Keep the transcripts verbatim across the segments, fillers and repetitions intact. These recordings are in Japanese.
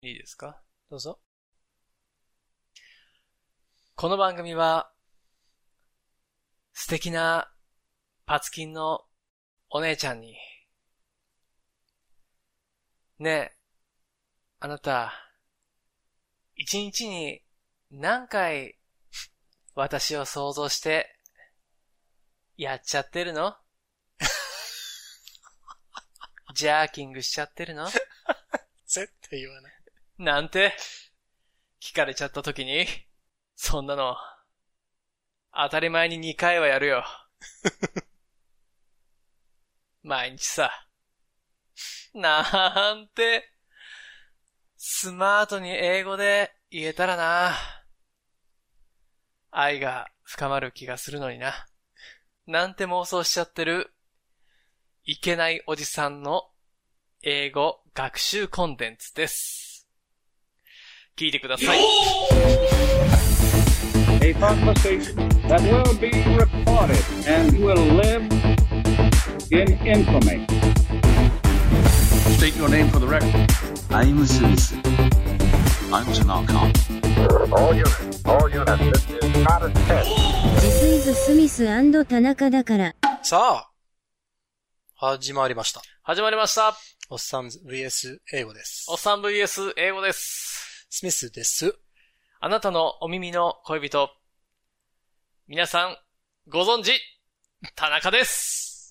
いいですか？ どうぞ。 この番組は、素敵なパツキンのお姉ちゃんに、ねえ、あなた、一日に何回私を想像してやっちゃってるの？ジャーキングしちゃってるの？ 絶対言わない。 なんて聞かれちゃった時に、そんなの当たり前ににかいはやるよ。毎日さ。なんてスマートに英語で言えたらな。愛が深まる気がするのにな。なんて妄想しちゃってるいけないおじさんの英語学習コンテンツです。聞いてください。 A conversation that will be recorded and will live in infamy. State your name for the record. I'm Smith. I'm Tanaka. All units, all units, this is not a test. This is Smith and 田中だから。 さあ、始まりました。 始まりました。 おっさん ブイエス 英語です。 おっさん ブイエス 英語です。 スミスです。 あなたのお耳の恋人。皆さん、ご存知、田中です。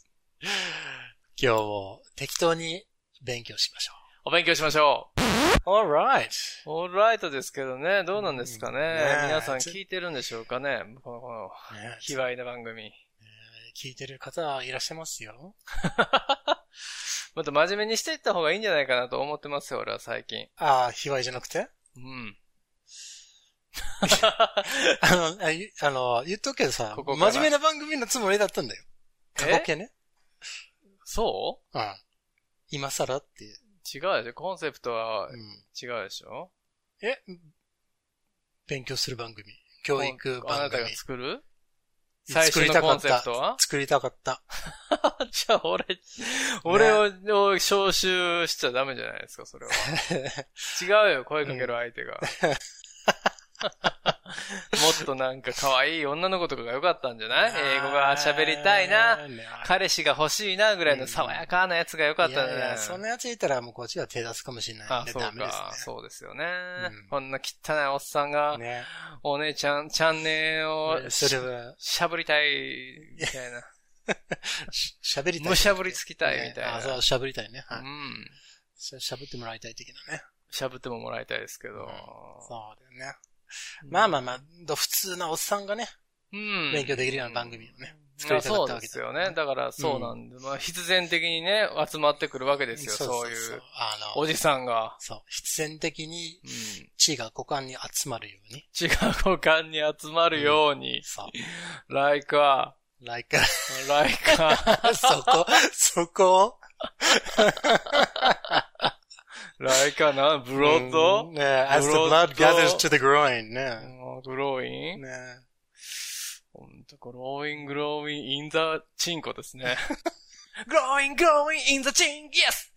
今日も適当に勉強しましょお勉強しましょう。alright. う。オーライトですけどね、どうなんですかね。 うんね皆さん聞いてるんでしょうかね。この、この、 ね卑猥な番組。 聞いてる方いらっしゃいますよ。 もっと真面目にしていった方がいいんじゃないかなと思ってますよ、俺は最近。 ああ、卑猥じゃなくてうん。 あの、ああの、言っとくけどさ、 ここから真面目な番組のつもりだったんだよ。過去形ね。 そうん。今更って。 う？違うでしょ。コンセプトはうん、 違うでしょ。 え勉強する番組。教育番組。 あなたが作る？最初のコンセプトは？ 作りたかった。 じゃあ俺、俺を、ね、を招集しちゃダメじゃないですか、それは。違うよ、声かける相手が。もっとなんか可愛い女の子とかが良かったんじゃない？英語が喋りたいな、彼氏が欲しいなぐらいの爽やかなやつが良かったんじゃない？いやいや、 そんなやついたらもうこっちは手出すかもしれないんで。 あ、そうか、 ダメですね。 そうですよね、 うん。 こんな汚いおっさんが、ね、お姉ちゃん、チャンネルをし、しゃぶりたい、みたいな。 しゃべりたい。 むしゃぶりつきたいみたいな。 ね、あ、そう、しゃぶりたいね。はい。 うん。 しゃぶってもらいたい的なね。 しゃぶってももらいたいですけど。うん、 そうだよね。まあまあまあ、普通なおっさんがね、うん、勉強できるような番組をね、作りたかったわけだ、ね。そうですよね。だからそうなんで、うん、まあ必然的にね、集まってくるわけですよ、そうそうそうそういうあのおじさんが。 そう、必然的に血が股間に集まるように。 血が股間に集まるように。うん、 そう。 like a, like a, like a そこ、そこ like a な、ブロッド、 ね、as the blood gathers to the groin ね。 グローインね。ほんと、グローイン、グローイン、インザチンコですね。グローイン、グローイン、インザチン、イエスって。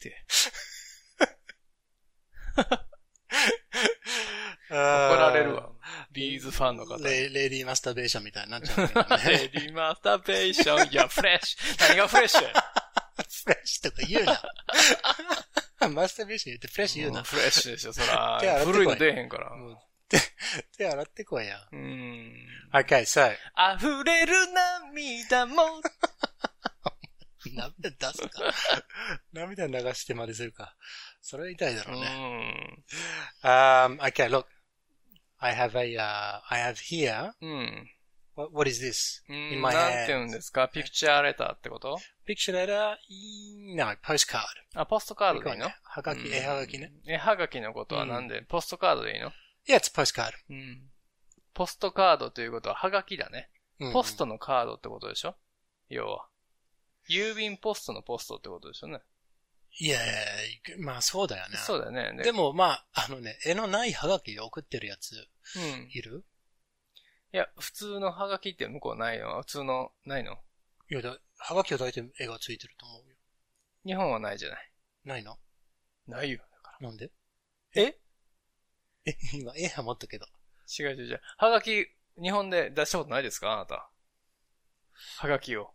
怒られるわ。ビーズファンの方。 レ, レディーマスターベーションみたいになっちゃう、ね。 レディーマスターベーション。いや、フレッシュ。何がフレッシュ？ フレッシュとか言うな。マスターベーション言ってフレッシュ言うな。 フレッシュでしょ、そら。古いの出えへんから。 手, 手洗ってこいや。 うん。 Okay, so. 溢れる涙も。 涙出すか。涙流してまでするか。それは痛いだろうね。うん。Um, okay, look. I have a, uh, I have here. うん。 What, what is this? In my hand. なんて言うんですか？ピクチャーレターってこと？ ピクチャーレター No, postcard. あ、ポストカードでいいの？ はがき、絵はがきね。 絵はがきのことはなんで、うん、ポストカードでいいの？ Yeah, it's postcard. うん。ポストカードということははがきだね。うん、ポストのカードってことでしょ？要は。郵便ポストのポストってことでしょね。 いやいや、まあそうだよね。 そうだよね。 でもまあ、あのね、絵のないはがきで送ってるやつ、うん、いる？ いや、普通のハガキって向こうないの？普通の、ないの？ いやだ、ハガキは大体絵がついてると思うよ。 日本はないじゃない。 ないの？ ないよ。だから。なんで？ ええ、今、絵は持ったけど。 違う違う違う。はがき、日本で出したことないですかあなた。はがきを。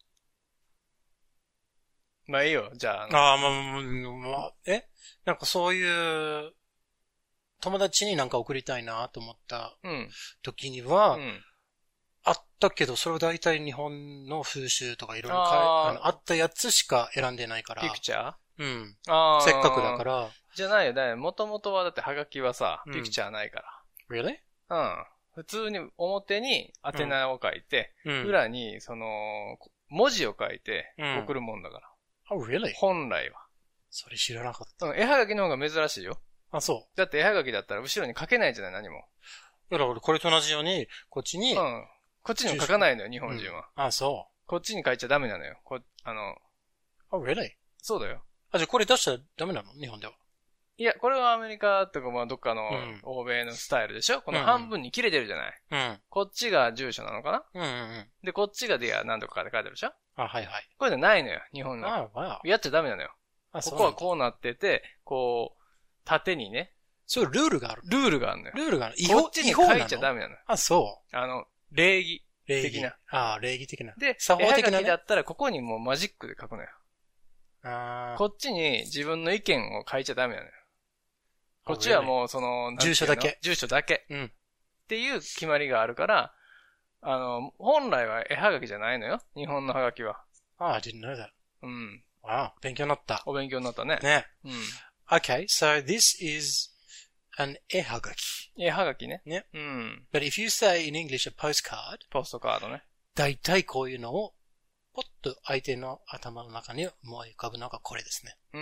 まあいいよ、じゃあ。 ああ、まあ、まあ、えなんかそういう、友達になんか送りたいなと思った時には、うんうん、あったけど、それは大体日本の風習とかいろいろああったやつしか選んでないから。 ピクチャーうん。あせっかくだから。 じゃないよ、だよ。もともとはだってハガキはさ、ピクチャーないから。 うん、Really? うん。普通に表に宛名を書いて、うん、裏にその、文字を書いて送るもんだから。 うん、oh, really? 本来は。 それ知らなかった。 うん、絵はがきの方が珍しいよ。 あ、そう。 だって絵はがきだったら後ろに書けないじゃない、何も。 だから俺これと同じように、こっちに。 うん。こっちにも書かないのよ、日本人は。 うん、あ、そう。 こっちに書いちゃダメなのよ。こ、あの。 Oh, really? そうだよ。 あ、じゃあこれ出したらダメなの日本では。 いや、これはアメリカとかまあどっかの欧米のスタイルでしょ、うん、この半分に切れてるじゃない、うん、こっちが住所なのかな、うんうんうん、で、こっちがディア何とかかって書いてあるでしょあ、はいはい。 これじゃないのよ、日本の。 あ、わやっちゃダメなのよ。あ、ここはこうなってて、こう、縦にね。 そういうルールがある。 ルールがあるのよ。 ルールがある。 こっちに書いちゃダメなのよ。 あ、そう。 あの、礼儀的な。 ああ、礼儀的な。 で、作法的な、ね。絵はがきだったらここにもうマジックで書くのよ。 あこっちに自分の意見を書いちゃダメなのよ。こっちはもうその、 住所だけ。 住所だけ。 うん。 っていう決まりがあるから、あの、本来は絵はがきじゃないのよ。日本のはがきは。 ああ、I didn't know that. うん。 わあ、勉強になった。 お勉強になったね。 ね。 うん。 Okay, so this is an 絵はがき。 絵はがきね。 ね。 うん。 But if you say in English a postcard. ポストカードね。 大体こういうのを、ポッと相手の頭の中に思い浮かぶのがこれですね。 うん。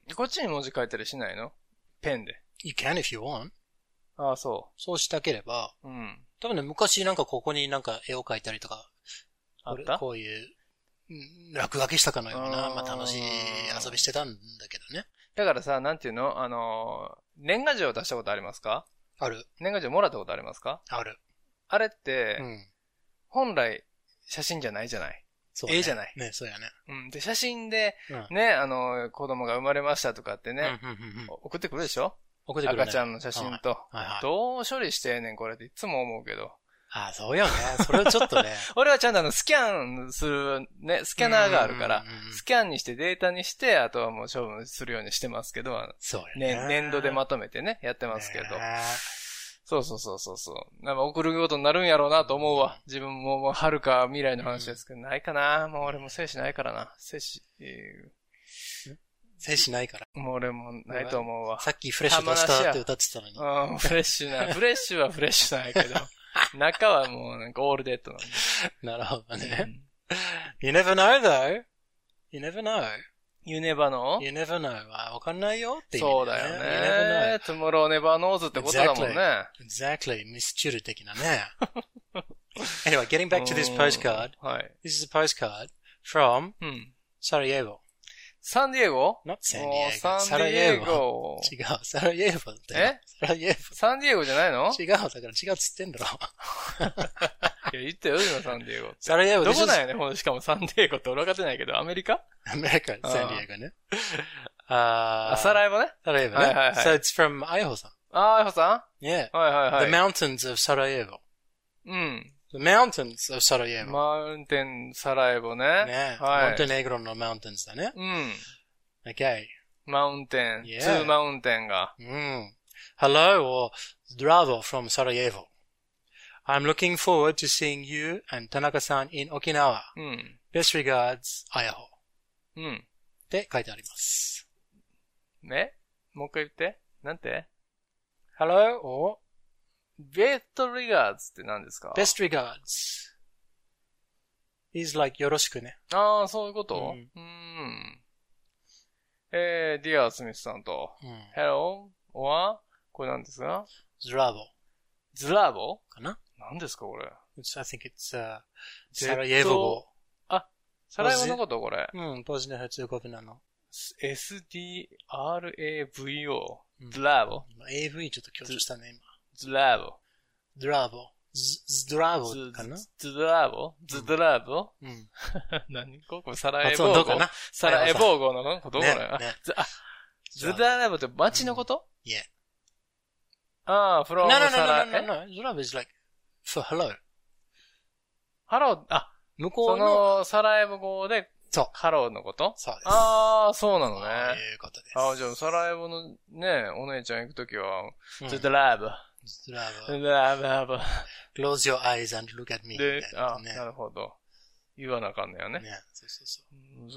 こっちに文字書いたりしないの？ペンで。 You can if you want. ああ、そう。 そうしたければ。 うん。 多分ね、昔なんかここになんか絵を描いたりとか。 あった？ こういう、落書きしたかのような、まあ楽しい遊びしてたんだけどね。 だからさ、なんていうのあの、年賀状出したことありますか？ ある。 年賀状もらったことありますか？ ある。 あれって、 うん、 本来写真じゃないじゃない。 そうね、 絵じゃない。 ね、そうやね。 うん。で、写真で、うん、ね、あの、子供が生まれましたとかってね、 うんうんうんうん、 送ってくるでしょ？ 送ってくるね。 赤ちゃんの写真と。 はいはいはい、 どう処理してんねん、これっていつも思うけど。 ああ、そうよね。それはちょっとね。 俺はちゃんとあの、スキャンする、ね、スキャナーがあるから、スキャンにしてデータにして、あとはもう処分するようにしてますけど、 そうね。ね、年度でまとめてね、やってますけど。そうそうそうそうそう。なんか送ることになるんやろうなと思うわ。自分ももう遥か未来の話ですけど、ないかな。もう俺も精子ないからな。精子、えー、精子ないから。 もう俺もないと思うわ。 さっきフレッシュ出したって歌ってたのに。 うん、フレッシュな。フレッシュはフレッシュなんやけど。中はもうなんかオールデッドなんで。 なるほどね。You never know though. You never know.You never know? You never know. わかんないよっていう、 ね。そうだよね。You never know. Tomorrow never knows ってことだもんね。 Exactly. Exactly. ミスチュル的なね。Anyway, getting back to this postcard. はい。 This is a postcard from、うん、Sarajevo. サンディエゴ Not San Diego. サンディエゴ。 違う。サライエボって。 えサライエボ。 サンディエゴじゃないの違う。だから違うっつってんだろ。 いや、言ったよ、今サンディエゴって。 サライエボ。 どこなんやね、ほんとしかもサンディエゴって俺分かってないけど、アメリカアメリカ、サンディエゴね。ああ、サラエボね。 サラエボね。はいはいはい。So it's from アイホさん。 ああ、アイホさん ?Yeah. はいはいはい。 The mountains of Sarajevo. うん。 The mountains of Sarajevo. マウンテン、サラエボね。 ね。 はい。 モンテネグロのマウンテンズだね。 うん。 Okay. マウンテン、yeah. ツーマウンテンが。 うん。Hello or Zdravo from Sarajevo. I'm looking forward to seeing you and Tanaka-san in Okinawa. うん。 Best regards, あやほ。 うん。 って書いてあります。 ね？もう一回言って。なんて？ Hello or Best regards って何ですか？ Best regards is like よろしくね。 ああ、そういうこと？ うん。 うんえー、ディア・スミスさんと、 うん、 Hello or これ何ですか？ Zdravo。 ズラボかな？ 何ですかこれ？ I think it's、uh, サライエボ語。 あ、サライエボのことこれ。 うん、ボスニア・ヘルツェゴビナの。 エスディーアールエーブイオー。ズラボ。 エーブイ ちょっと強調したね、今。 ズラボ。 ズラボ。ズドラボかな？ ズドラボ？ズドラボ？ うん。 何これサラエボーゴ？サラエボーゴのことこれ？あ、ズドラボって街のこと？ いえ。 ああ、from No, no, no, サラ、 no, no, no, no. Love is like for hello. ハロー、あ、そ向こうの、 の、サラエボ語で、 そう。 ハローのこと？ そうです。 ああ、そうなのね。 そういうことです。 ああ、じゃあ、サラエボのね、お姉ちゃん行くときは、 うん、 ずっとラブ。 ずっとラブ。 ラブ、ラブ。 Close your eyes and look at me. で、あ、 ね、 なるほど。言わなあかんねやね。 ね、そうそうそう。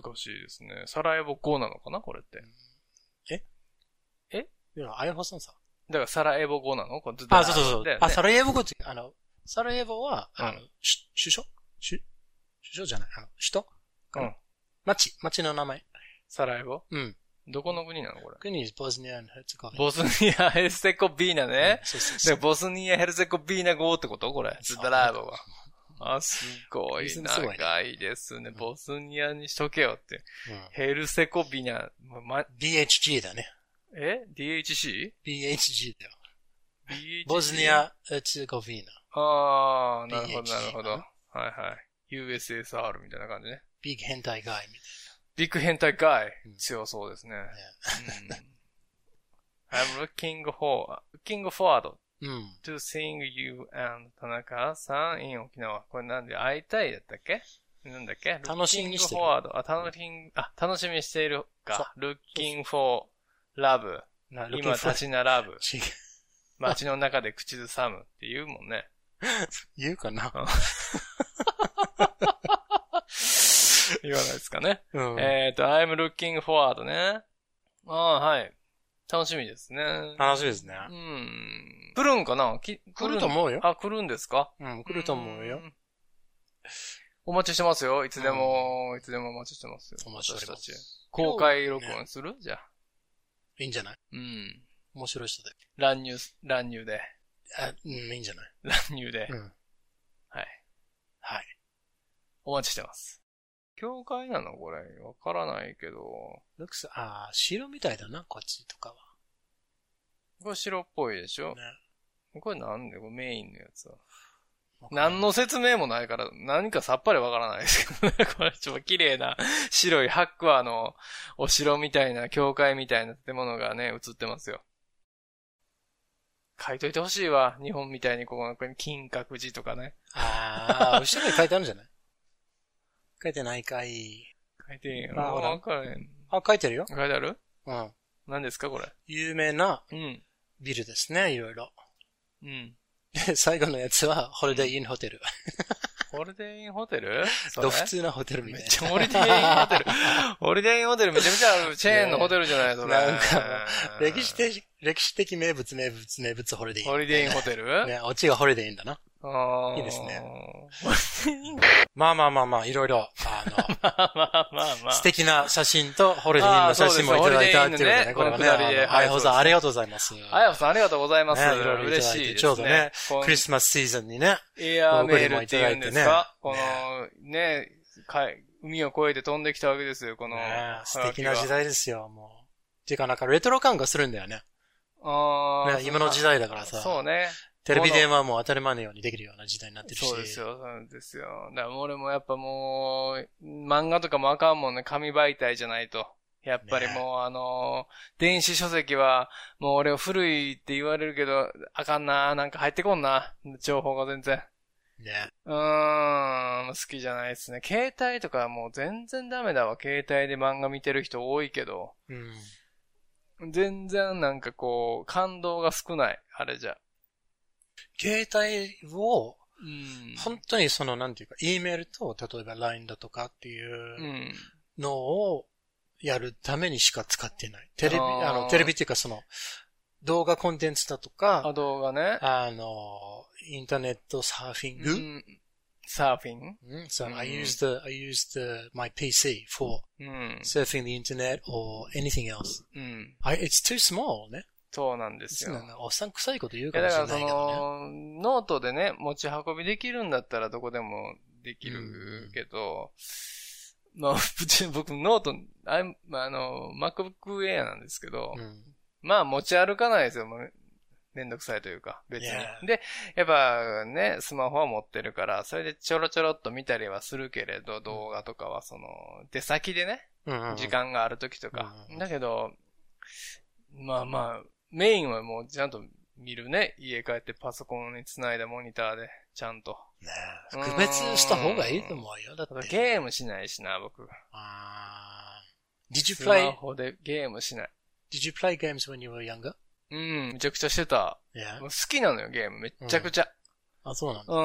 難しいですね。サラエボ語なのかなこれって。 ええいや、アイホさんさ。 だからサラエボ語なのこれずっとあ、そうそうそう。 ね、 あ、サラエボ語って、あの、サラエボは、 うん、 あの、し首相首首相じゃない、あの、首都うん。 町、町の名前。 サラエボうん。 どこの国なのこれ。 国はボスニア・ヘルツェゴビーナ。 ボスニア・ヘルツェゴビーナね。 うん、そうそうそう。 ボスニア・ヘルツェゴビーナ語ってことこれ。ズダラーボは。あ、すごい長いですね。ボスニアにしとけよって。うん、ヘルセコビナ、ま、 ビーエイチジー だね。 え ディーエイチシー? ビーエイチジー だよ。 ビーエイチシー? ボスニア・ヘルツェゴビーナ。 ああ、なるほど、なるほど。はいはい。ユーエスエスアール みたいな感じね。 ビッグ変態ガイみたいな。 ビッグ変態ガイ。 うん、 強そうですね。うん、I'm looking for, looking forward うん、 to seeing you and 田中さん in 沖縄。これなんで会いたいだったっけなんだっけ楽しみにしてる。 looking forward あ、楽しみ、あ、楽しみにしているか。looking for love 今立ち並ぶ。街の中で口ずさむって言うもんね。 言うかな言わないですかね。 うん、 えっと、I'm looking forward ね。ああ、はい。楽しみですね。 楽しみですね。 うん。来るんかなき来ると思うよ。 あ、来るんですかうん、来ると思うよ。うお待ちしてますよ。いつでも、うん、いつでもお待ちしてますよ。 お待ちしてます。 公開録音する、ね、じゃあ。 いいんじゃない？ うん。 面白い人で。 乱入、乱入で。 あ、うん、いいんじゃない？ 乱入で。 うん。 はい。 はい。 お待ちしてます。教会なのこれ。わからないけど。 ルクス、ああ、白みたいだな、こっちとかは。 これ白っぽいでしょ？ ね。 これなんでこれメインのやつは。何の説明もないから、何かさっぱりわからないですけどね。これちょっと綺麗な白い白亜のお城みたいな、教会みたいな建物がね、映ってますよ。書いといてほしいわ。日本みたいにここの金閣寺とかね。 ああ、後ろに書いてあるんじゃない？書いてないかい。 書いてんよ。 あ、ほら。 わかれん。 あ、書いてるよ。 書いてある？ うん。 何ですかこれ。 有名なビルですね、 うん、 いろいろ。 うん。 で、最後のやつは、ホリデーインホテル。 ホリデーインホテルと普通なホテルみたいな。 めっちゃホリデーインホテル。ホリデーインホテルめちゃめちゃあるチェーンのホテルじゃないそれ。 なんか、歴史的、歴史的名物、名物、名物、ホリデーイン。 ホリデーインホテルね、オチがホリデーインだな。 ああ。 いいですね。まあまあまあまあ、いろいろ、あの、 まあまあまあまあ。 素敵な写真とホリデーインの写真もいただいたっていうことね。これはね。あやほさん、ありがとうございます。 あやほさん、ありがとうございます。 ね、いろいろ嬉しいですね。ちょうどね、クリスマスシーズンにね。 エアーメールって言うんですかこの、ね、海を越えて飛んできたわけですよ、この。 素敵な時代ですよ、もう。っていうかなんかレトロ感がするんだよね。 ああ。 今の時代だからさ。 そうね。 テレビ電話も当たり前のようにできるような時代になってるし。 そうですよ、そうですよ。だから俺もやっぱもう、漫画とかもあかんもんね、紙媒体じゃないと。やっぱりもう、ね、あの、電子書籍は、もう俺は古いって言われるけど、あかんな、なんか入ってこんな、情報が全然。 ね。 うーん、好きじゃないですね。携帯とかはもう全然ダメだわ。携帯で漫画見てる人多いけど。 うん。 全然なんかこう、感動が少ない、あれじゃ。 携帯を、 うん、 本当にその、なんていうか、E メールと、例えば ライン だとかっていうのをやるためにしか使ってない。テレビ、あ, あの、テレビっていうかその、動画コンテンツだとか、 あ、動画ね。 あの、インターネットサーフィング、うん、 サーフィン、 mm, So、うん、I used the, I used the, my ピーシー for、うん、surfing the internet or anything else. うん、 I, it's too small ね。 そうなんですよ。 おっさん臭いこと言うかもしれないけどね。 だからその、ノートでね、持ち運びできるんだったらどこでもできるけど、うん、まあ、僕ノート、あ, あの、MacBook Air なんですけど、うん、まあ持ち歩かないですよ。めんどくさいというか、別に。Yeah. で、やっぱね、スマホは持ってるから、それでちょろちょろっと見たりはするけれど、動画とかはその、出先でね、うんうん、時間がある時とか。うんうん、だけど、まあまあ、メインはもうちゃんと見るね。家帰ってパソコンにつないだモニターで、ちゃんと。 ねえ。区別した方がいいと思うよ。だって。 ゲームしないしな、僕。 あー。Did you play? スマホでゲームしない。 Did you play games when you were younger? うん、めちゃくちゃしてた。 Yeah. 好きなのよ、ゲーム。めっちゃくちゃ。 うん、あ、そうなんだ。 うん。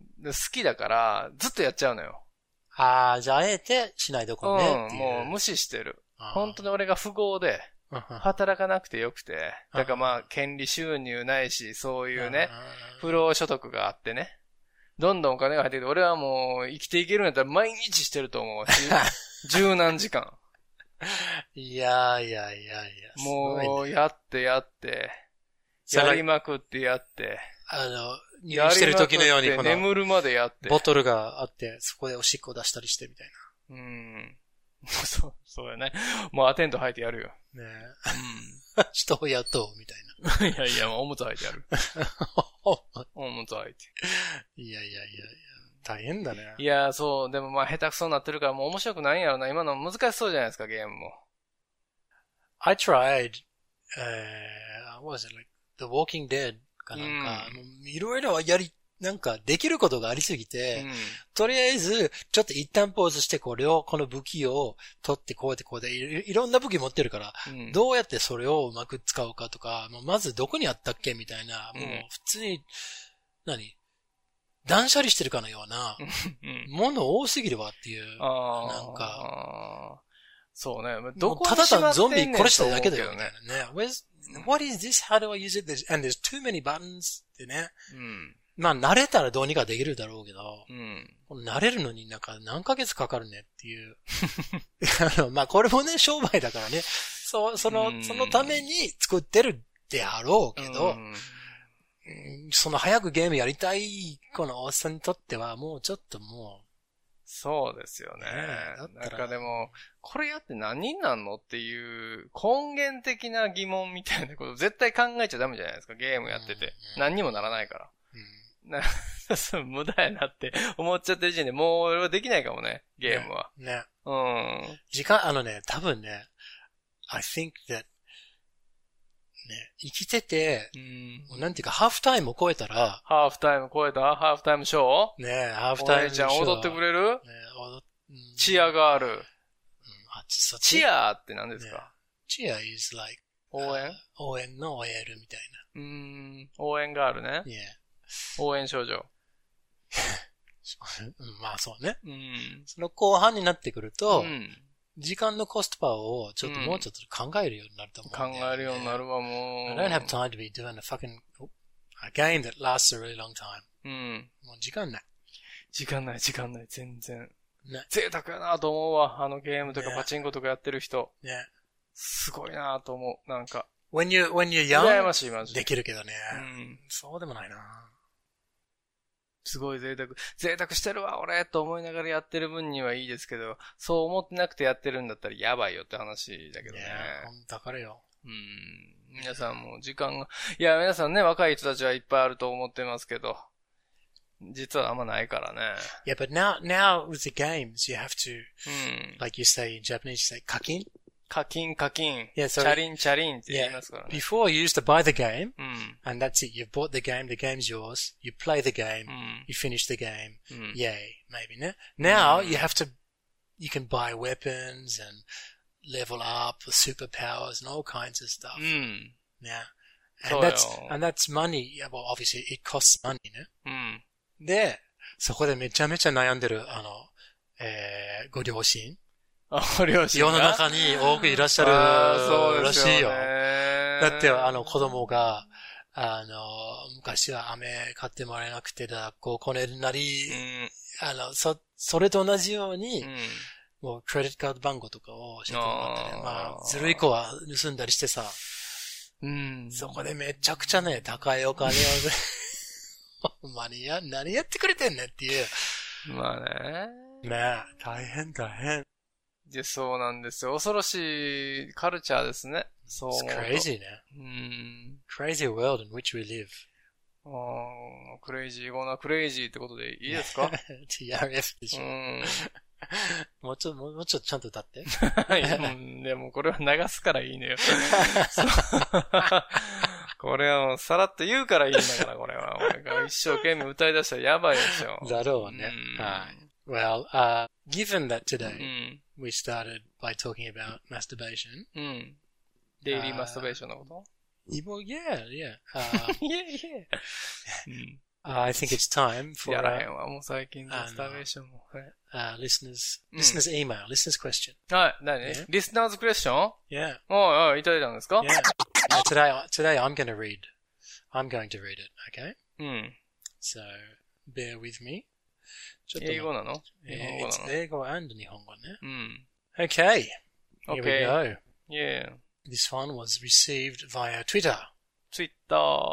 で好きだから、ずっとやっちゃうのよ。 あー、じゃあ、あえてしないどこねっていう。 うん、もう無視してる。本当に俺が富豪で、働かなくてよくて。だからまあ、権利収入ないし、そういうね、不労所得があってね。どんどんお金が入ってきて、俺はもう生きていけるんやったら毎日してると思う。十何時間。 いやいやいやいや。 もう、やってやって、やりまくってやって、 あの、入院してる時のようにこの、 眠るまでやって。 ボトルがあって、そこでおしっこ出したりしてみたいな。うん。そう、そうやね。もうアテント履いてやるよ。 ねえ。うん。人を雇うみたいな。いやいや、おむつ履いてやる。おむつ履いて。 いやいやいやいや。大変だね。 いや、そう、でもまあ下手くそになってるからもう面白くないんやろな。今の難しそうじゃないですか、ゲームも。 I tried, uh, what was it, like, The Walking Dead かなんか、いろいろやり、なんかできることがありすぎて、うん、とりあえず、ちょっと一旦ポーズして、これを、この武器を取ってこうやってこうでい、いろんな武器持ってるから、うん、どうやってそれをうまく使うかとか、もうまずどこにあったっけみたいな、もう普通に、何断捨離してるかのような、もの多すぎるわっていう、なんか、 そうね。 どこにただ単ゾンビ殺しただけだよね。What is this? How do I use it? And there's too many buttons ってね。うん、まあ慣れたらどうにかできるだろうけど、うん、慣れるのになんか何ヶ月かかるねっていう。あのまあこれもね、商売だからね。そう、その、うん、そのために作ってるであろうけど、うんその早くゲームやりたいこのおっさんにとってはもうちょっともう。 そうですよね。ねなんかでも、これやって何になんのっていう根源的な疑問みたいなこと絶対考えちゃダメじゃないですか。ゲームやってて。うんうん、何にもならないから。うん、な無駄やなって思っちゃってる時点でもう俺はできないかもね。ゲームは。 ね。ねうん。 時間、あのね、多分ね、I think thatね、生きてて、うん、なんていうか、ハーフタイムを超えたら、 ハーフタイム超えたハーフタイムショーねハーフタイムショー。 お姉ちゃん踊ってくれるね踊っ、うん、チアガール。うん、あチアって何ですか、ね、 チア is like 応援、uh, 応援の エル みたいな。うーん、応援ガールね。 Yeah. 応援少女。 まあそうね。 うん、 その後半になってくると、うん時間のコストパーをちょっともうちょっと考えるようになると思う、 ねうん。考えるようになるわ、もう。 I don't have time to be doing a fucking a game that lasts a really long time. うん。 もう時間ない。 時間ない、時間ない、全然。ね。贅沢やなと思うわ。あのゲームとかパチンコとかやってる人。 ね。 すごいなと思う。なんか。 When you, when you're young, 羨ましい、マジできるけどね。 うん。 そうでもないなすごい贅沢。贅沢してるわ、俺と思いながらやってる分にはいいですけど、そう思ってなくてやってるんだったらやばいよって話だけどね。 いや、だからよ。 うん。皆さんも時間が、いや、皆さんね、若い人たちはいっぱいあると思ってますけど、実はあんまないからね。 Yeah, but now, now with the games, you have to, うん、like you say in Japanese, you say 課金課金、課金。 Yeah, so, チャリン、チャリンって言いますからね。 Yeah, before you used to buy the game, うん、 and that's it. You've bought the game, the game's yours. You play the game, うん、 you finish the game. うん、 Yay, maybe, ね。Now, you have to, you can buy weapons and level up with superpowers and all kinds of stuff. うん。 Yeah. And that's, and that's money. Yeah, well, obviously, it costs money, ね。 うん。 で、そこでめちゃめちゃ悩んでる、あの、えー、ご両親。 あ、両親世の中に多くいらっしゃるらしいよ。だって、あの、子供が、あの、昔は飴買ってもらえなくて、学校こねるなり、うん、あの、そ、それと同じように、うん、もう、クレジットカード番号とかを教えてもらってね。まあ、ずるい子は盗んだりしてさ、 うん、 そこでめちゃくちゃね、高いお金を、ほんまにや、何やってくれてんねんっていう。 まあね。 ねえ、大変大変。 で、そうなんですよ。恐ろしいカルチャーですね。そう思うと。 It's crazy ね。 うん。 crazy world in which we live. ああ、クレイジー、ゴーナークレイジーってことでいいですかティーアールエフ でしょ。 うん。 もうちょっと、もうちょっとちゃんと歌って。 はい、でもこれは流すからいいのよ。 これはもうさらっと言うからいいんだから、これは。俺が一生懸命歌い出したらやばいでしょ。 だろうね。はい。Well, uh, given that today, うん。 we started by talking about masturbation. うん。デイリーマスタベーションのこと Well, yeah, yeah. Uh, yeah, yeah. うん。 I think it's time for やらへんわ、もう最近マスタベーションも。 Uh, listeners, listeners email, listeners question. はい、何 Yeah. Listeners question? Yeah. おいおい、いただいたんですか Yeah. Uh, today, today I'm going to read. I'm going to read it, okay? うん。 So, bear with me. 英語なの日本語なの英語 and 日本語ね。 うん。 Okay. Here Okay. we go. Yeah. This one was received via Twitter. Twitter.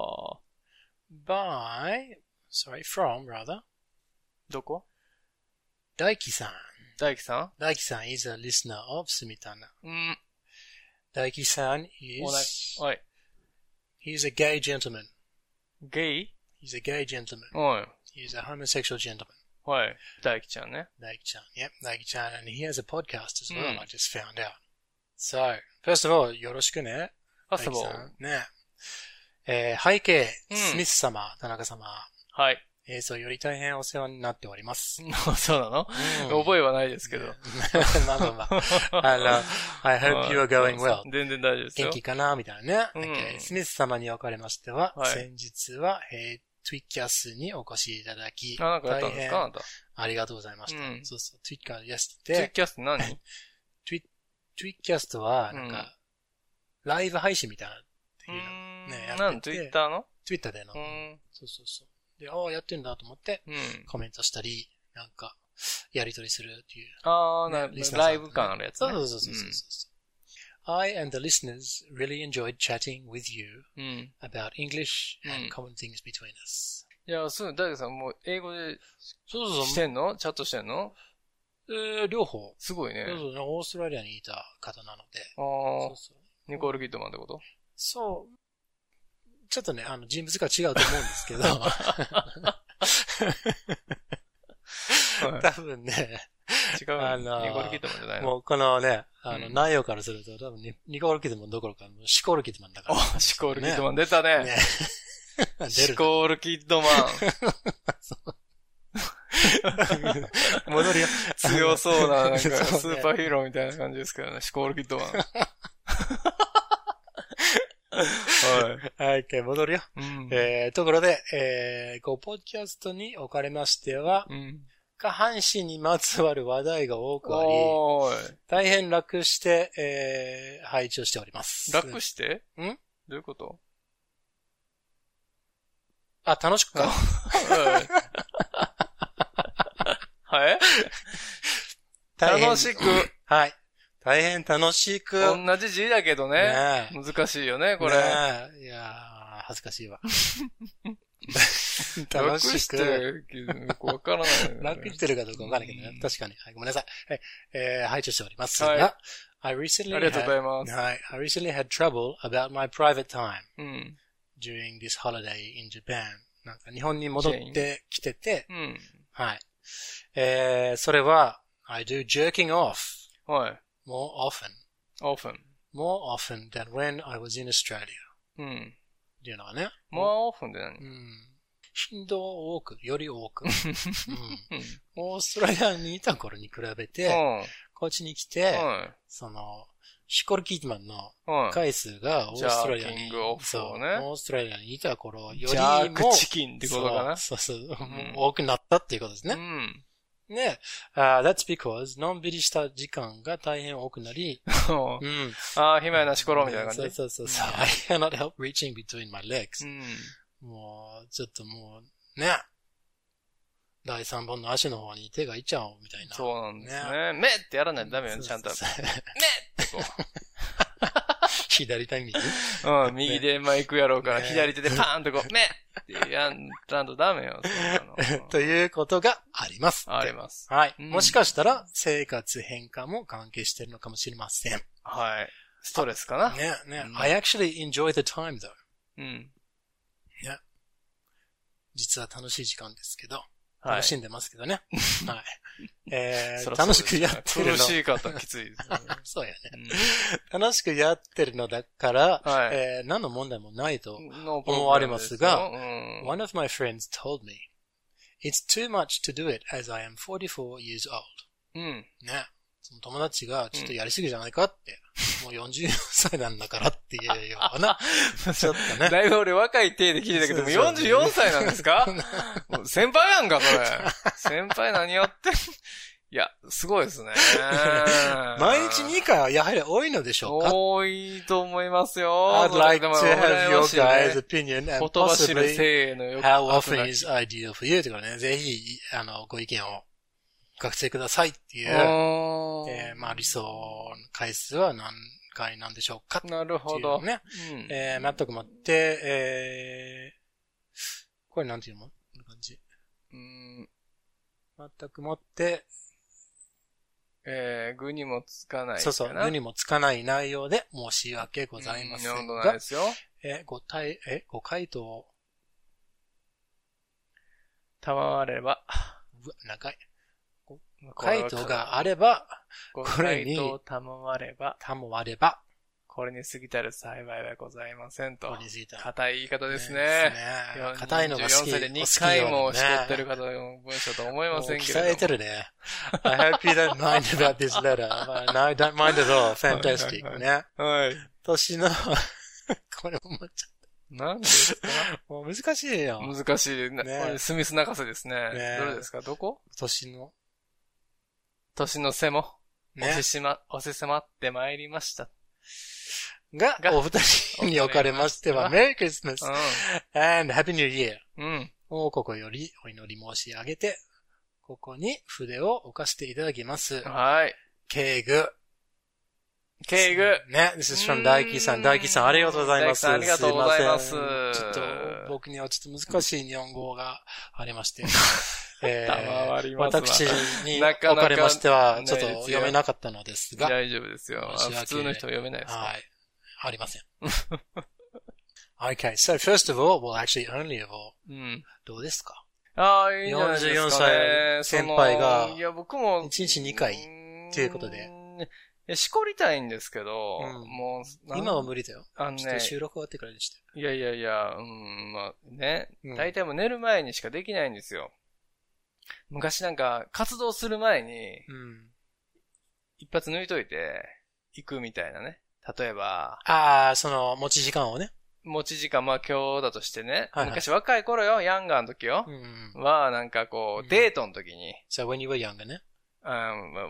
By, sorry, from rather, どこ Daiki-san. 大輝さ Daiki-san is a listener of Sumitana. んうん。 Daiki-san おな is, おい。 he's a gay gentleman. ゲイ He's a gay gentleman. おい。 He's a homosexual gentleman. はい。大輝ちゃんね。 Daiki-chan. Yep, Daiki-chan. And he has a podcast as well, Mm. I just found out. So, first of all, よろしくね。 ファストボー Daiki-san ル。 ね。えー背景、 うんスミス様、田中様。 はい。 映像より大変お世話になっております。 そうなの、 うん覚えはないですけど。 まあまあまあ。あの、I hope you are going well. 全然大丈夫ですよ。 元気かなみたいなね。 うん Okay. スミス様におかれましては、 はい先日は、えー、ツイキャスにお越しいただき、 あ、なんかやったんですかあ大なた。 変ありがとうございました。 うんそうそう、ツイキャスやしツイて、 キャスって何ツイツイキャストは、なんか、 うんライブ配信みたいなってういうのーん。 ね、やなん、 ってて、 ツイッターのツイッターでのう、ーん。 そうそうそう。で、ああ、やってんだと思って、 うん。 コメントしたり、なんか、やりとりするっていう。 あー、なねリスナーさんライブ感あるやつね。 そうそうそうそうそう。I and the listeners really enjoyed chatting with you うん。うん。 about English うん and common things between us. いや、そう、大輝さんもう英語でそうそうそう。 してんのチャットしてんのえー両方。 すごいね。 そうそうね。オーストラリアにいた方なので。 あー、 そうそう。 ニコール・キッドマンってことそう。ちょっとね、あの、人物が違うと思うんですけど。多分ね、 違う。 あのーニコール・キッドマンじゃないのもうこのね、あの、 うん内容からすると、多分ニニコール・キッドマンどころか、シコール・キッドマンだから。 お、シコール・キッドマン出たね。 ね。出シる。 コール・キッドマン。 戻るよ。 強そうな、なんか、スそうねーパーヒーローみたいな感じですけどね。シコール・キッドマン。はい。 はい、戻るよ。 うん。 えー、ところで、えー、こう、ポッドキャストにおかれましては、 うん。 下半身にまつわる話題が多くあり、 おーい。 大変楽して、えー、配置をしております。 楽してんどういうことあ、楽しくか。 はい。はい大変楽しく。 はい。大変楽しく。 同じ字だけどね。 ねえ難しいよね、これ。 ねえいやー、恥ずかしいわ。楽楽しく。 して、よくわからないよね。 楽してるかどうかわからないけどね。確かに。はい、ごめんなさい。はい、えー、配置をしておりますが、 はい I recently ありがとうございます had, はい、I recently had trouble about my private time うん。 during this holiday in Japan. なんか日本に戻ってきてて、 うん。 はい。えー、それは、I do jerking off はい。 more often, often. more often than when I was in Australia. うん。 っていうのはね。 more often って何うん。頻度多く、より多く。うん。 うん。 オーストラリアにいた頃に比べて、こっちに来て、 はい。 その、シコル・キートマンのはい。 回数がオーストラリアに、 ジャーキングオフそう、 をねオーストラリアにいた頃よりも、 ジャークチキンってことかな。 そうそうそう、 ん多くなったっていうことですうね。 ん。 ね。Uh, that's because のんびりした時間が大変多くなり、うん。 ああ、暇やなしころみたいな感じ。 そうそうそうそう。I cannot help reaching between my legs. うん。 もう、ちょっともう、ね。第三本の足の方に手がいっちゃおうみたいな。 そうなんですね。目ってやらないとダメよね、ちゃんと。目そうそうってこ左手右。 う。うん、右でマイクやろうから、 ね左手でパーンとこう、目ってやん、ちゃんとダメよ、そんなの。 ということがあります。 あります。 はい。 うんもしかしたら生活変化も関係しているのかもしれません。 はい。ストレスかな。 ね、ね。 うん I actually enjoy the time though. うん。 実は楽しい時間ですけど。 楽しんでますけどね。はい。えー、 そら楽しそうですねくやってるの。 苦しい方はきついですね。 そうやね、 うん。 楽しくやってるのだから、 はいえー、何の問題もないと思思われますが、 うん、 one of my friends told me, it's too much to do it as I am forty-four years old. うん。 ね。その友達がちょっとやりすぎじゃないかって、うん、もうよんじゅうよんさいなんだからっていうような、ちょっとね。 だいぶ俺若い体で聞いてたけども、よんじゅうよんさいなんですかもう先輩やんか、それ。先輩何やってんいや、すごいですね。 毎日にかいはやはり多いのでしょうか？ 多いと思いますよ。 I'd like to have your guys' opinion and 言葉知る possibly せーのよ how often is ideal for you とかね、ぜひ、あの、ご意見を学生くださいっていう、えー、まあ理想の回数は何回なんでしょうかっていう、ね。 なるほど。 ね。うん、えー、全くもって、えー、これなんていうの？こんな感じ。 うん、 全くもって、 えー、具にもつかないかな。 そうそう、具にもつかない内容で申し訳ございませんが。 うん、ないですよ。 えー、ご対、え、ご回答。 賜れば。 うわ、長い。回答があれば、 これに、賜れば、 賜れば、 これに過ぎたる幸いはございませんと。 これに過ぎたる。 硬い言い方ですね。 ね硬いのが好き。 よんじゅうよんさいでにかいもしとってる方の文章と思いませんけれども。 鍛えてるね。I hope you don't mind about this letter. No, I don't mind at all. Fantastic. ね。 はい。 年の、これ思っちゃった。 何ですか？ もう難しいよ。 難しいね。これスミス泣かせですね。 ねどれですか？どこ？ 年の。 年の瀬も、 ね、 押ししま、押し迫ってまいりました。 が、お二人におかれましては、メリークリスマス、 うん、 and Happy New Year をここよりお祈り申し上げて、ここに筆を置かせていただきます。 はい。 敬具。 敬具。 ね、this is from 大輝さん。大輝さん、ありがとうございます。 ありがとうございます。 ちょっと、僕にはちょっと難しい日本語がありまして。えー、私におかれましては、ちょっと読めなかったのですが。 大丈夫ですよ。普通の人は読めないですか？ はい。ありません。Okay, so first of all, well actually only of all. うん、どうですか？ ああ、いいんじゃないですかね。よんじゅうよんさい先輩が、 いや、僕も、 いちにちにかいっていうことで。 しこりたいんですけど、うん、もう、今は無理だよ。 あのね、 ちょっと収録終わってからにして。 いやいやいや、うん、まあね、大体もう寝る前にしかできないんですよ。昔なんか活動する前に、うん、一発抜いといて行くみたいなね。例えば。 ああ、その持ち時間をね。 持ち時間、まあ今日だとしてね。はいはい、昔若い頃よ、ヤンガーの時よ。うん、は、なんかこう、うん、デートの時に。 So when you were younger ね。 うん、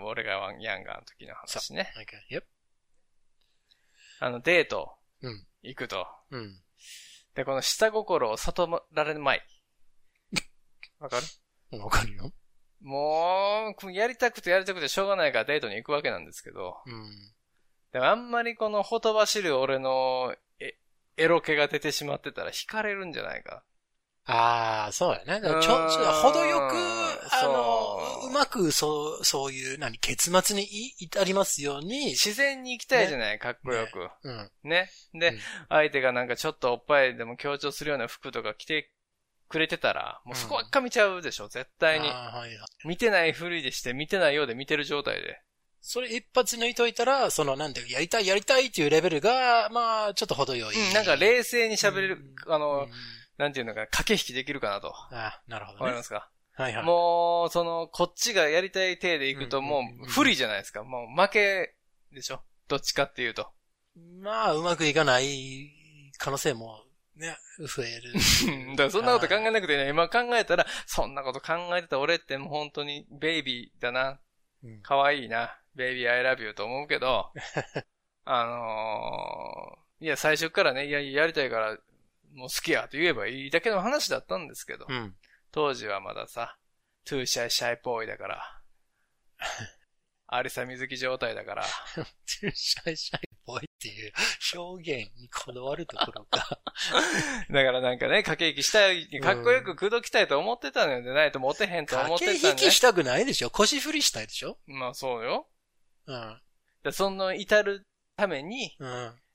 俺がヤンガーの時の話ね。 So, okay. Yep. あの、デート。うん。行くと。うん。で、この下心を悟られるまい。わかる？ わかるよ。 もう、やりたくてやりたくてしょうがないからデートに行くわけなんですけど。うん。でもあんまりこのほとばしる俺のエ、エロ気が出てしまってたら惹かれるんじゃないか。 ああ、そうやね。ちょ、ちょ、程よく、あの、うまく、そう、そういう、何、結末に至りますように。 自然に行きたいじゃない、ね、かっこよく。ね。うん、ねで、うん、相手がなんかちょっとおっぱいでも強調するような服とか着てくれてたら、もうそこばっか見ちゃうでしょ、絶対に。はいはい、見てないふりでして、見てないようで見てる状態で。 それ一発抜いといたら、その、なんて、やりたいやりたいっていうレベルが、まあ、ちょっと程よい。 うん、なんか冷静に喋れる、うん、あの、うんなんていうのか、駆け引きできるかなと。 ああ、なるほどね。 わかりますか？ はいはい。 もう、その、こっちがやりたい体で行くともう不利じゃないですか。もう負けでしょ？どっちかっていうと。 まあ、うまくいかない可能性もね、増える。 だからそんなこと考えなくてね、今考えたら、そんなこと考えてた俺ってもう本当にベイビーだな。可愛いな。ベイビー I love you と思うけど、あのー、いや、最初からね、いや、やりたいから、もう好きやと言えばいいだけの話だったんですけど、うん、当時はまださ、トゥーシャイシャイボーイだから、アリサ水木状態だから、 トゥーシャイシャイボーイっていう表現にこだわるところか。 だからなんかね、駆け引きしたい、かっこよく口説きたいと思ってたのでないとモテへんと思ってたんで、ね。 駆け引きしたくないでしょ？腰振りしたいでしょ？ まあそうよ。 うん。 でその至るために、うん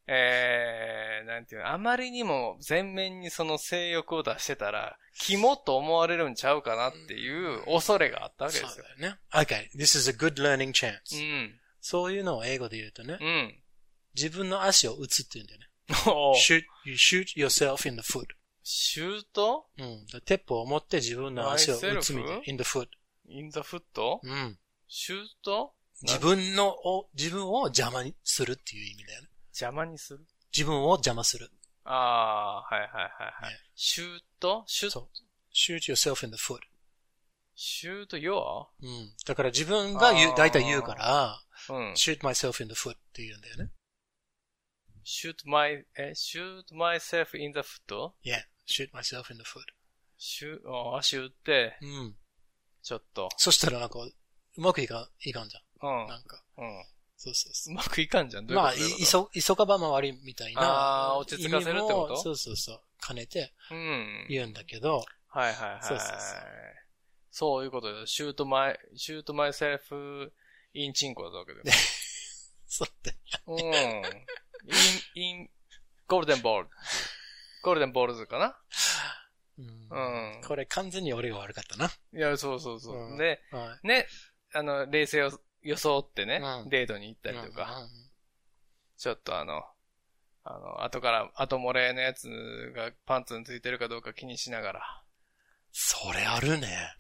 えー、なんていうの、あまりにも全面にその性欲を出してたら、キモと思われるんちゃうかなっていう恐れがあったわけですよ。 そうだよね。Okay, this is a good learning chance. うん。 そういうのを英語で言うとね、 うん。 自分の足を打つって言うんだよね。 お shoot, you shoot yourself in the foot. シュートうん。鉄砲を持って自分の足を打つみたいな。in the foot. in the foot? うん。 シュート自分のを、自分を邪魔にするっていう意味だよね。 邪魔にする自分を邪魔する。 ああ、はいはいはいはい。 ね、 シュートシュート shoot yourself in the foot. シュート your? うん。だから自分が言う、大体言うから、 うん、 shoot myself in the foot って言うんだよね。 shoot my, え、shoot myself in the foot? Yeah, shoot myself in the foot. シュー、足打って、 うん。 ちょっと。 そしたらなんか、うまくいか、いかんじゃん。 うん。 なんか。 うん。 そうそうそう。 うまくいかんじゃん。どういうことまあ、い、いそ、急がば回りみたいな。 ああ、落ち着かせるってことそうそうそう。兼ねて、 うん。 言うんだけど。 はいはいはい。そうそうそう。そういうことで、シュートマイ、シュートマイセルフ、インチンコだったわけで。 そうだよ。うん。イン、イン、ゴールデンボール。ゴールデンボールズかなうん。 うん。 これ完全に俺が悪かったな。 いや、そうそうそう。 うん、 で、 はい、 ね、あの、冷静を装ってね、 うん、 デートに行ったりとか、 うんうん、 ちょっとあの、あの、後から、後漏れのやつがパンツについてるかどうか気にしながら。 それあるね。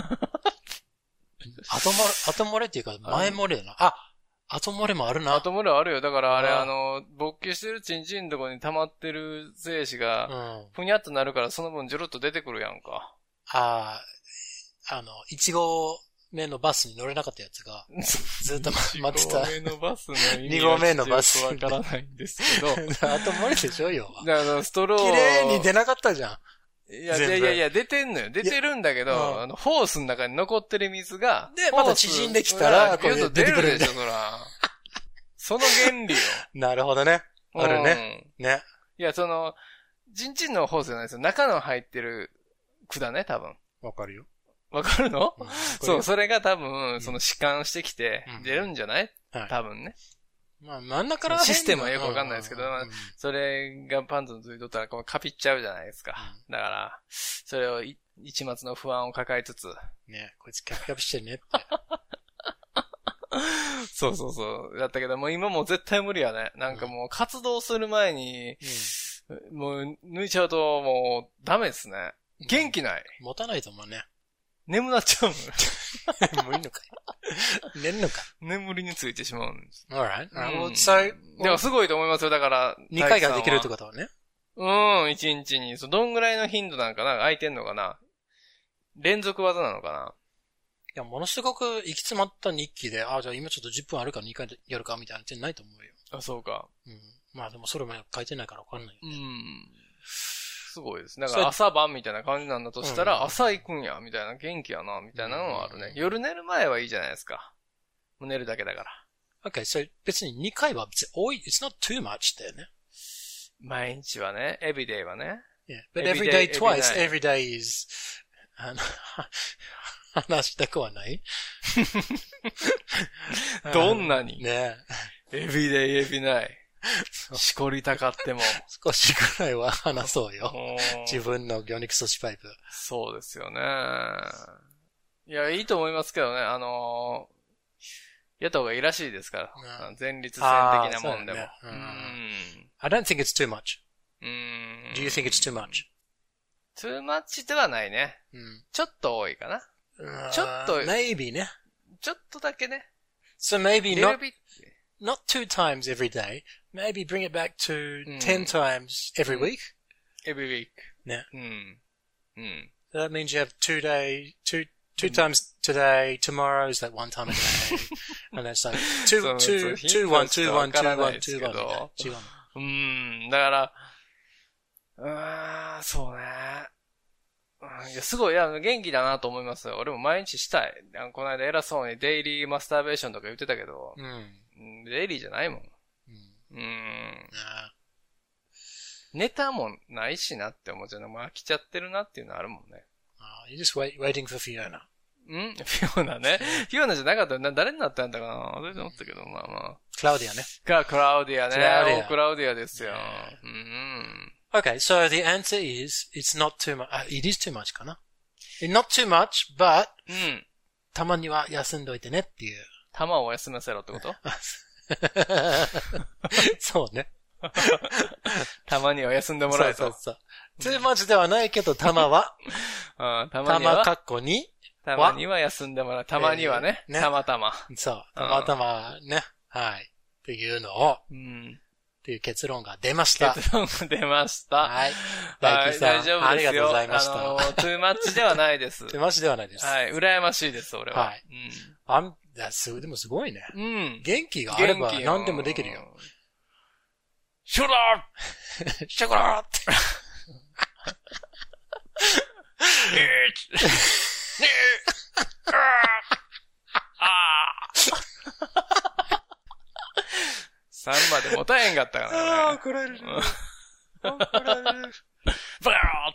後漏れ、後漏れっていうか前漏れだな。あ、後漏れもあるな。 後漏れあるよ。だからあれ、あの、勃起してるチンチンのとこに溜まってる精子が、ふにゃっとなるからその分ジョロッと出てくるやんか。 ああ、あの、一号目のバスに乗れなかったやつが、ずっと待ってた。 一号目のバスの意味二号目のバス。 わからないんですけど。 後漏れでしょよ。 だからストロー。 綺麗に出なかったじゃん。 いや、いやいやいや、出てんのよ。出てるんだけど、うん、あの、ホースの中に残ってる水が、 で、また縮んできたら、 これ出てくるでしょ、そら。その原理よ。 なるほどね。あるね。うん、ね。 いや、その、チンチンのホースじゃないですよ。中の入ってる管ね、多分。 わかるよ。 わかるの、うん、そう、それが多分、その弛緩してきて、出るんじゃない、うん、多分ね。 まあ、真ん中からシステムはよくわかんないですけど、まあ、それがパンツのついとったら、こう、カピっちゃうじゃないですか。うん、だから、それを、一末の不安を抱えつつ。 ね、こいつキャピキャピしてるねって。 そうそうそう。だったけど、もう今もう絶対無理やね。なんかもう活動する前に、うん、もう抜いちゃうともうダメですね。元気ない。 持たないと思うね。 眠なっちゃうの。もういいのかい。寝るのか。 眠りについてしまうんです。 alright. うん、so, でもすごいと思いますよ。だから。 にかいができるってことはね。 うん、いちにちに。どんぐらいの頻度なんかな空いてんのかな連続技なのかないや、ものすごく行き詰まった日記で、ああ、じゃあ今ちょっとじゅっぷんあるからにかいやるかみたいなってないと思うよ。 あ、そうか。 うん。まあでもそれも書いてないからわかんないよね。 うん。すごいです。だから朝晩みたいな感じなんだとしたら、うん、朝行くんや、みたいな、元気やな、みたいなのはあるね。うん、夜寝る前はいいじゃないですか。もう寝るだけだから。 Okay, so 別ににかいは別に多い、it's not too much だよね。 毎日はね、every day はね。 Yeah, but every day, every day twice, every day is, あの、話したくはないどんなにねえ。every day, every night。しこりたかっても。 少しくらいは話そうよ。自分の魚肉阻止パイプ。 そうですよね。いや、いいと思いますけどね。あのー、やった方がいいらしいですから。うん、前立腺的なもんでも。ねうん、 I don't think it's too much. うん Do you think it's too much? too much ではないね。うん、ちょっと多いかな。ちょっと。 maybe ね。 ちょっとだけね。 So maybe not, not two times every day. Maybe bring it back to、うん、ten times every week. Every week. ね。 うん。うん。 So that means you have two day, two, two、うん、times today, tomorrow is like one time a day. And that's like two, two, two, one, two, one, two, one, two, one. うん。だから、うーん、そうね。いや、すごい、いや、元気だなと思いますよ。俺も毎日したい。この間偉そうにデイリーマスターベーションとか言ってたけど、うん、デイリーじゃないもん。うん。うんネタもないしなって思っちゃうの。もう飽きちゃってるなっていうのあるもんね。 ああ、you're just wait, waiting for Fiona. んフィオナね。フィオナじゃなかったら誰になったんだかな忘れて思ったけど、まあまあ。 クラウディアね。 が、クラウディアね。 クラウディアおクラウディアですよ。 ねうん。 Okay, so the answer is, it's not too much, uh, it is too much かな。Not too much, but, うん。 たまには休んどいてねっていう。 玉を休ませろってことそうね。 たまには休んでもらえと。 そうそうそう。too much ではないけど、玉は、 うん、たまには、 玉かっこに、 たまには休んでもらう。たまにはね。 えーねたまたま。 そう。たまたまね。はい。っていうのを、 うん。 っていう結論が出ました。 結論が出ました。 はい。 大丈夫ですよ。 ありがとうございました。 あの、トゥーマッチではないです。 トゥーマッチではないです。 はい。羨ましいです、俺は。 はい。うん。あん、すでもすごいね。 うん。 元気があれば何でもできるよ。 シュラーシュラーって。 さんまで持たへんかったからね。 ああ、怒られる。怒られる。 バ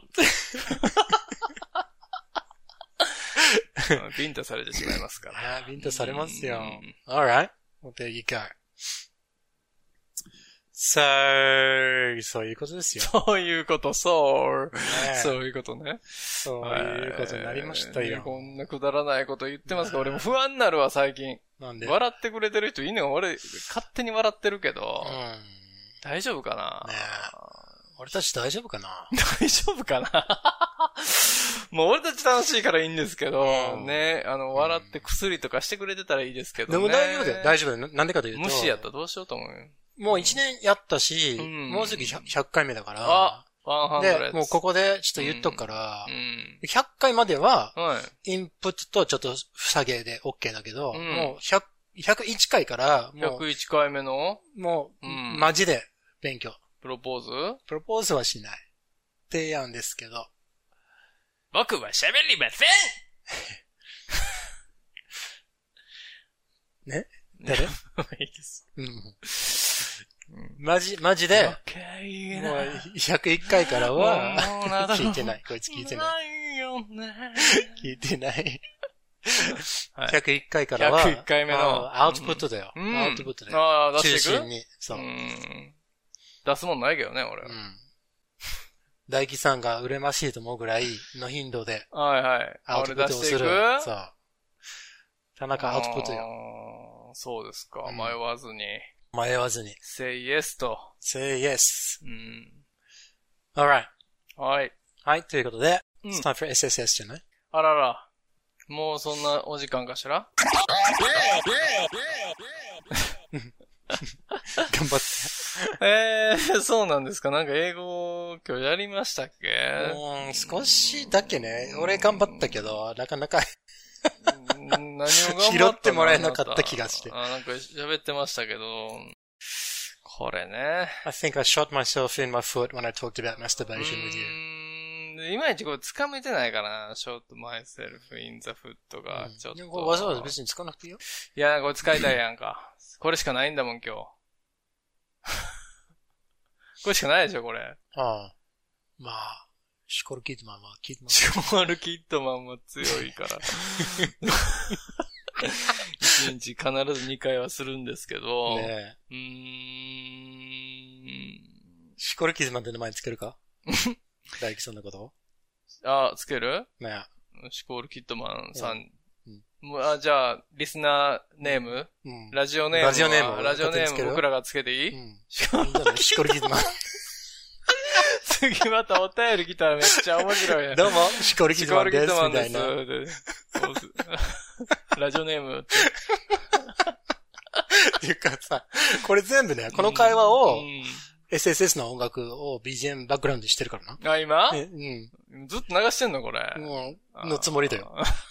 ーって。ビンタされてしまいますから。 ビンタされますよ。Alright. Well, there you go. So, そういうことですよ。 そういうこと、そう。 ね、 そういうことね。 そういうことになりましたよ。 こんなくだらないこと言ってますか？俺も不安になるわ、最近。 なんで？ 笑ってくれてる人いいねん。俺、勝手に笑ってるけど。 うん、 大丈夫かな、 ね、俺たち大丈夫かな大丈夫かなもう俺たち楽しいからいいんですけど、うん、ね、あの、笑って薬とかしてくれてたらいいですけどね。 でも大丈夫だよ。大丈夫だよ。なんでかというと。 無視やったらどうしようと思うよ。 もう一年やったし、うん、もうすぐひゃっかいめだから。 あ、ひゃく。 で、もうここでちょっと言っとくから、うん、ひゃっかいまでは、インプットとちょっと下げで OK だけど、うん、もうひゃく、ひゃくいちかいから、もう。 ひゃくいちかいめのもう、うん、マジで勉強。 プロポーズ？ プロポーズはしない。提案ですけど。 僕は喋りませんね誰？いいです。 うんマジ、マジで、もうひゃくいっかいからは、聞いてない。こいつ聞いてない。聞いてない。ひゃくいっかいからは、 ひゃくいっかいめのアウトプットだよ。 うん、 アウトプットだよ。 ああ、出していく？ 中心に。そう。 うん出すもんないけどね、俺。うん。 大輝さんが羨ましいと思うぐらいの頻度で、 はいはい。 アウトプットをする。そう。田中アウトプットよ。 そうですか。迷わずに。 迷わずに。 say yes と。 say yes. うん。 alright. はい。 はい、ということで、うん、it's time for エスエスエス じゃない？ あらら。もうそんなお時間かしら？ 頑張って。 えー、そうなんですか。なんか英語今日やりましたっけ？ うん、少しだけね。俺頑張ったけど、なかなか何を頑張った拾ってもらえなかった気がして。 あ、なんか喋ってましたけど、これね。 I think I shot myself in my foot when I talked about masturbation with you. いまいちこれ掴めてないかな。shot myself in the foot がちょっと。 うん、わざわざ別に使わなくていいよ。 いや、これ使いたいやんか。これしかないんだもん、今日。これしかないでしょ、これ。 ああ。まあ、シコールキッドマンはキッドマン。 シコールキッドマンは強いから。一日必ずにかいはするんですけど。 ねえ。うーん。シコールキッドマンって名前つけるか大輝さんのことあ、つけるねえ。シコールキッドマンさん。うん、あじゃあ、リスナーネーム、うん、ラジオネームラジオネームラジオネーム僕らがつけていい、うん、 シコールキッドマン。 次またお便り来たらめっちゃ面白いね。 どうも、シコールキッドマンです。シコールキッドマンです。ラジオネームって。 っていうかさ、これ全部ね、この会話を、うん、エスエスエス の音楽を ビージーエム バックグラウンドにしてるからな。 あ、今？ うん。 ずっと流してんのこれ。 うん。のつもりだよ。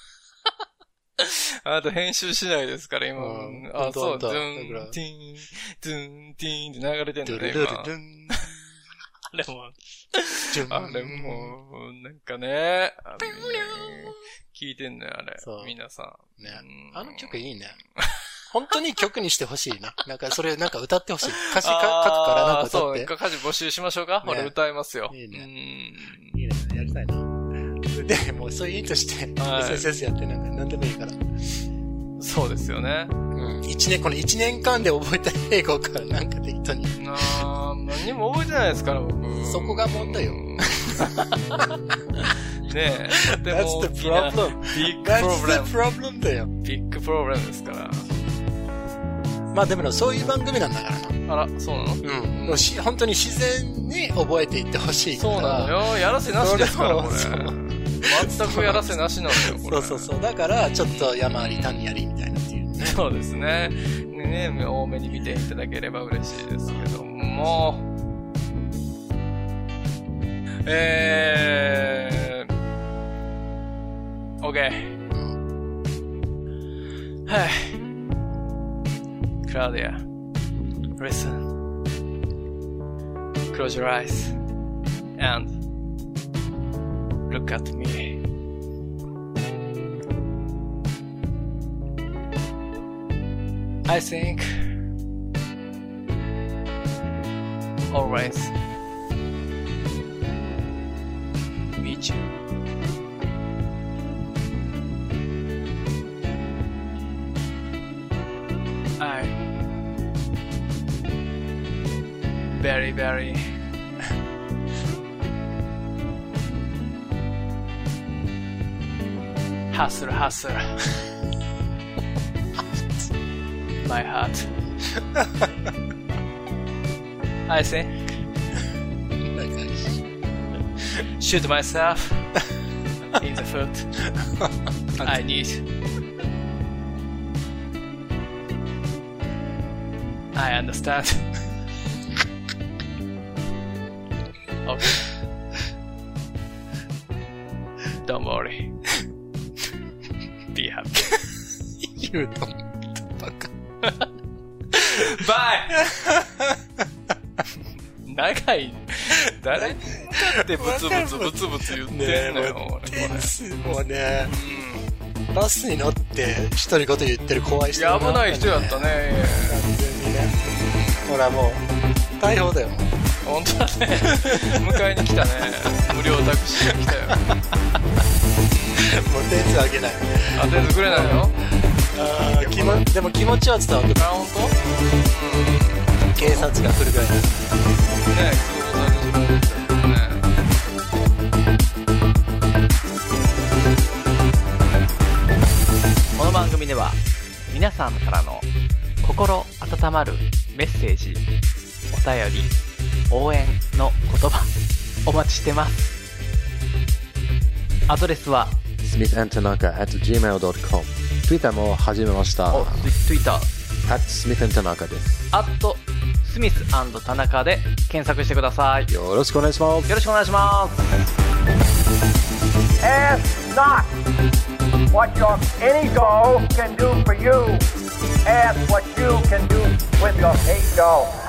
あと編集しないですから今。うん、あ、そう、ドゥン、ティン、ドゥン、ティンって流れてんのね、今。あれも、あれも、なんかね、あのね聞いてんのよ、あれ。皆さん。 ね。あの曲いいね。本当に曲にしてほしいな。なんかそれなんか歌ってほしい。歌詞か書くからなんか歌って。 そう、歌詞募集しましょうか。俺歌いますよ。 いいね。いいね。やりたいな。で、もうそういう意味として、はい、エスエスエス やってなんか何でもいいから。 そうですよね。うん。 一年、この一年間で覚えた英語からなんか適当に。 あー、何も覚えてないですから、僕。 そこが問題よ。 ねえ。でも That's the problem. ビッグプロブレム。 That's the problem だよ。 ビッグプロブレムですから。 まあでもそういう番組なんだからな。 あら、そうなの？ うん。うん、し本当に自然に覚えていってほしいから。 そうなのよ。やらせなしですから、これ。 全くやらせなしなんだよ、これ。 そうそうそう。だから、ちょっと山あり谷ありみたいなっていうね。 そうですね。ね、多めに見ていただければ嬉しいですけども。えー、OK。はい。Claudia, listen. Close your eyes and look at me. I think always meet you. I very very hustle hustle my heart. I think shoot myself in the foot. I need. I understand. Okay. Don't worry. Be happy. You don't. バイ長い。誰にだってブツブツブツブツ言ってんのよ。 もうね、うん、バスに乗って独り言言ってる怖い人、 ね、いや危ない人やったね。完全にね。ほらもう逮捕だよ。 本当だね。迎えに来たね。無料タクシーが来たよ。 もう点数あげない。 あ、点数くれないの？ あー、気もでも気持ちは伝わってくる。 あ、本当？うん。 警察が来るぐらいだ。ねえ、そうだね。この番組では皆さんからの心温まるメッセージ、お便り、応援の言葉お待ちしてます。アドレスはスミス アンド タナカ at ジーメール ドットコム。 Twitter も始めました。 お、Twitter at スミス アンド タナカ です。 at スミス アンド タナカで検索してください。 よろしくお願いします。 よろしくお願いします。 Ask not what your any doll can do for you. Ask what you can do with your paid doll.